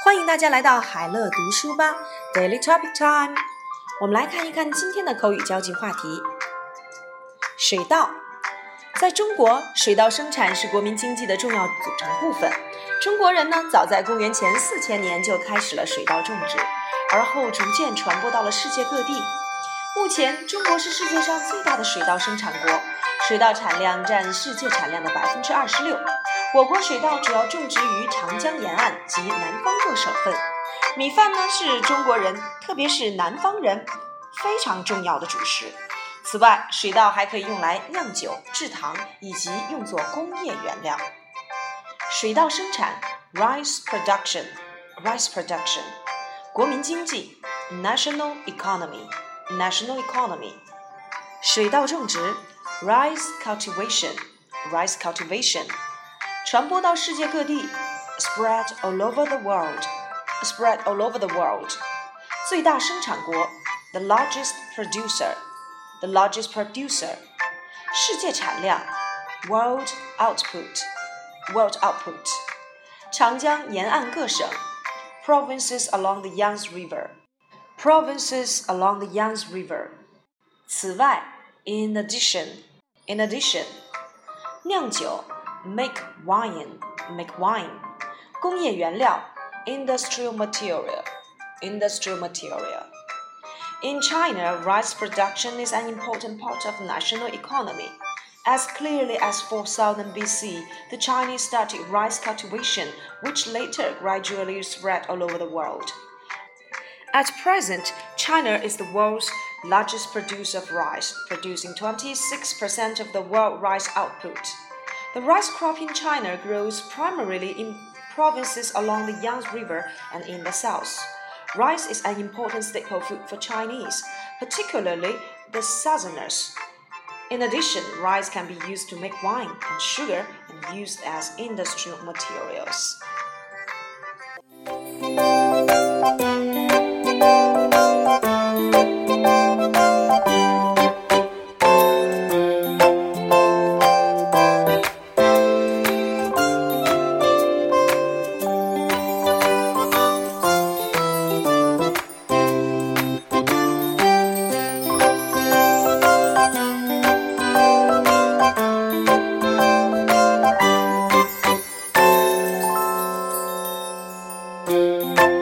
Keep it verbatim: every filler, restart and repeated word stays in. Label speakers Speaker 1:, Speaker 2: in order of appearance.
Speaker 1: 欢迎大家来到海乐读书吧 Daily Topic Time。 我们来看一看今天的口语交际话题。水稻。在中国，水稻生产是国民经济的重要组成部分。中国人呢，早在公元前四千年就开始了水稻种植，而后逐渐传播到了世界各地。目前，中国是世界上最大的水稻生产国，水稻产量占世界产量的 百分之二十六。我国水稻主要种植于长江沿岸及南方各省份。米饭呢，是中国人，特别是南方人非常重要的主食。此外，水稻还可以用来酿酒、制糖，以及用作工业原料。水稻生产 rice production rice production 国民经济 national economy national economy 水稻种植 rice cultivation rice cultivation 传播到世界各地 spread all over the world spread all over the world 最大生产国 the largest producer the largest producer 世界产量 world output world output 长江沿岸各省 provinces along the Yangtze River provinces along the Yangtze River 此外 in addition in addition 酿酒 make wine make wine 工业原料 industrial material industrial material In China, rice production is an important part of the national economy. As clearly as four thousand B C, the Chinese started rice cultivation, which later gradually spread all over the world. At present, China is the world's largest producer of rice, producing twenty-six percent of the world rice output. The rice crop in China grows primarily in provinces along the Yangtze River and in the south.Rice is an important staple food for Chinese, particularly the Southerners. In addition, rice can be used to make wine and sugar and used as industrial materials. Música